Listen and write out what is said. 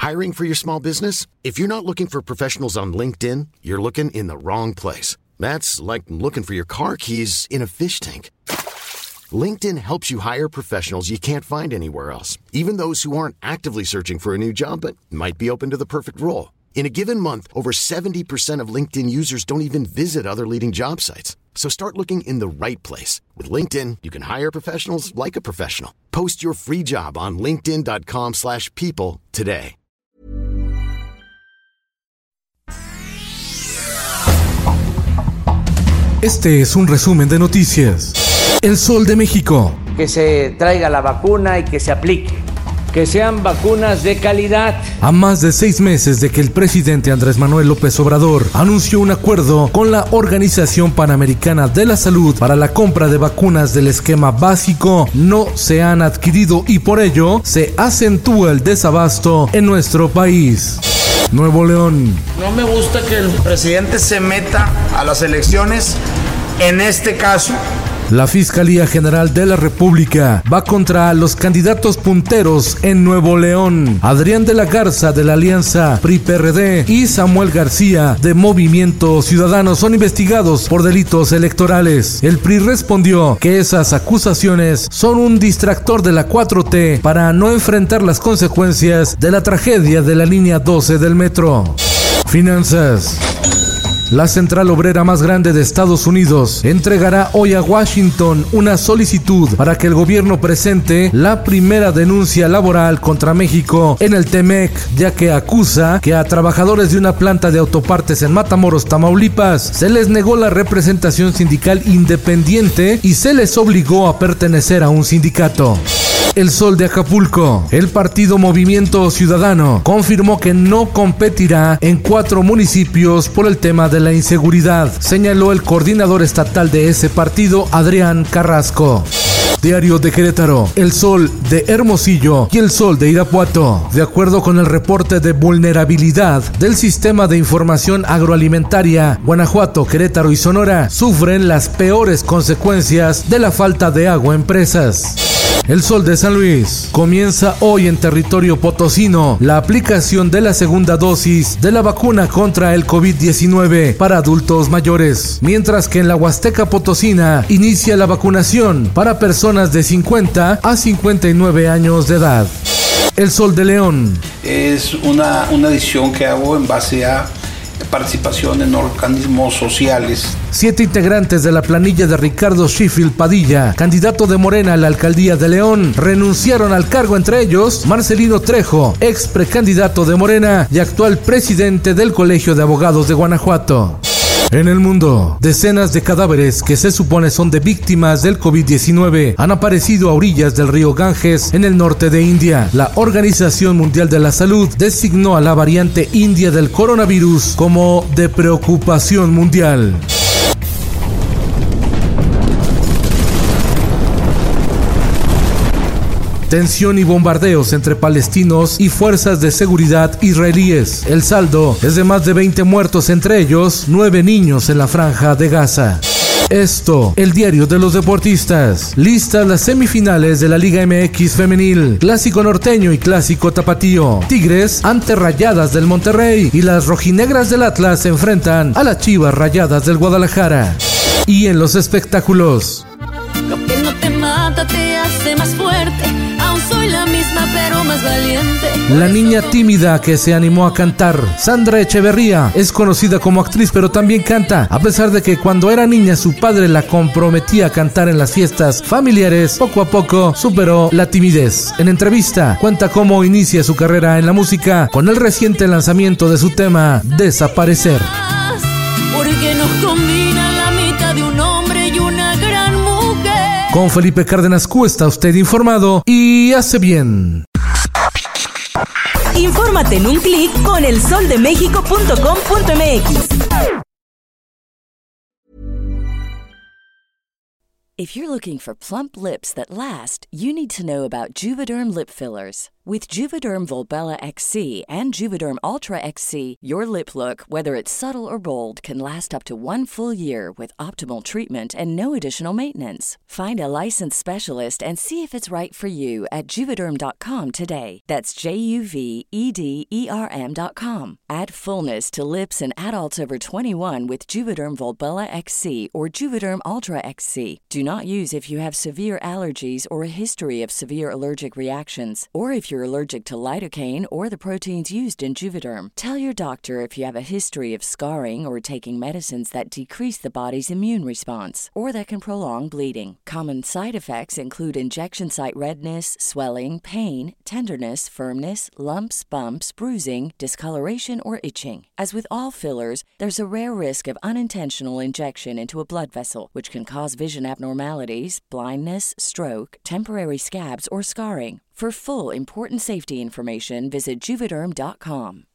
Hiring for your small business? If you're not looking for professionals on LinkedIn, you're looking in the wrong place. That's like looking for your car keys in a fish tank. LinkedIn helps you hire professionals you can't find anywhere else, even those who aren't actively searching for a new job but might be open to the perfect role. In a given month, over 70% of LinkedIn users don't even visit other leading job sites. So start looking in the right place. With LinkedIn, you can hire professionals like a professional. Post your free job on linkedin.com/people today. Este es un resumen de noticias. El Sol de México. Que se traiga la vacuna y que se aplique. Que sean vacunas de calidad. A más de 6 meses de que el presidente Andrés Manuel López Obrador anunció un acuerdo con la Organización Panamericana de la Salud para la compra de vacunas del esquema básico, no se han adquirido y por ello se acentúa el desabasto en nuestro país. Nuevo León. No me gusta que el presidente se meta a las elecciones en este caso. La Fiscalía General de la República va contra los candidatos punteros en Nuevo León. Adrián de la Garza de la Alianza PRI-PRD y Samuel García de Movimiento Ciudadano son investigados por delitos electorales. El PRI respondió que esas acusaciones son un distractor de la 4T para no enfrentar las consecuencias de la tragedia de la línea 12 del metro. Finanzas. La central obrera más grande de Estados Unidos entregará hoy a Washington una solicitud para que el gobierno presente la primera denuncia laboral contra México en el TEMEC, ya que acusa que a trabajadores de una planta de autopartes en Matamoros, Tamaulipas, se les negó la representación sindical independiente y se les obligó a pertenecer a un sindicato. El Sol de Acapulco. El partido Movimiento Ciudadano confirmó que no competirá en 4 municipios por el tema de la inseguridad, señaló el coordinador estatal de ese partido, Adrián Carrasco. Diario de Querétaro, El Sol de Hermosillo y El Sol de Irapuato. De acuerdo con el reporte de vulnerabilidad del Sistema de Información Agroalimentaria, Guanajuato, Querétaro y Sonora sufren las peores consecuencias de la falta de agua en presas. El Sol de San Luis. Comienza hoy en territorio potosino la aplicación de la segunda dosis de la vacuna contra el COVID-19 para adultos mayores, mientras que en la Huasteca Potosina inicia la vacunación para personas de 50 a 59 años de edad. El Sol de León. Es una edición que hago en base a participación en organismos sociales. 7 integrantes de la planilla de Ricardo Sheffield Padilla, candidato de Morena a la alcaldía de León, renunciaron al cargo, entre ellos Marcelino Trejo, ex precandidato de Morena y actual presidente del Colegio de Abogados de Guanajuato. En el mundo, decenas de cadáveres que se supone son de víctimas del COVID-19 han aparecido a orillas del río Ganges en el norte de India. La Organización Mundial de la Salud designó a la variante india del coronavirus como de preocupación mundial. Tensión y bombardeos entre palestinos y fuerzas de seguridad israelíes. El saldo es de más de 20 muertos, entre ellos 9 niños en la franja de Gaza. Esto, el diario de los deportistas. Listas las semifinales de la Liga MX femenil. Clásico norteño y clásico tapatío. Tigres ante Rayadas del Monterrey y las rojinegras del Atlas se enfrentan a las Chivas Rayadas del Guadalajara. Y en los espectáculos. Lo que no te mata te hace más fuerte. Aún soy la misma pero más valiente. La niña tímida que se animó a cantar. Sandra Echeverría es conocida como actriz pero también canta. A pesar de que cuando era niña su padre la comprometía a cantar en las fiestas familiares, poco a poco superó la timidez. En entrevista cuenta cómo inicia su carrera en la música con el reciente lanzamiento de su tema Desaparecer. Porque nos combina la mitad de un hombre y una gran mujer. Con Felipe Cárdenas Q está usted informado y hace bien. Infórmate en un clic con elsoldemexico.com.mx. If you're looking for plump lips that last, you need to know about Juvederm lip fillers. With Juvederm Volbella XC and Juvederm Ultra XC, your lip look, whether it's subtle or bold, can last up to 1 full year with optimal treatment and no additional maintenance. Find a licensed specialist and see if it's right for you at Juvederm.com today. That's JUVEDERM.com. Add fullness to lips in adults over 21 with Juvederm Volbella XC or Juvederm Ultra XC. Do not use if you have severe allergies or a history of severe allergic reactions, or if you're allergic to lidocaine or the proteins used in Juvederm. Tell your doctor if you have a history of scarring or taking medicines that decrease the body's immune response or that can prolong bleeding. Common side effects include injection site redness, swelling, pain, tenderness, firmness, lumps, bumps, bruising, discoloration, or itching. As with all fillers, there's a rare risk of unintentional injection into a blood vessel, which can cause vision abnormalities, blindness, stroke, temporary scabs, or scarring. For full important safety information, visit Juvederm.com.